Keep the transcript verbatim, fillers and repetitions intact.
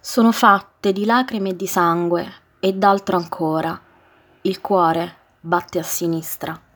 Sono fatte di lacrime e di sangue e d'altro ancora. Il cuore batte a sinistra.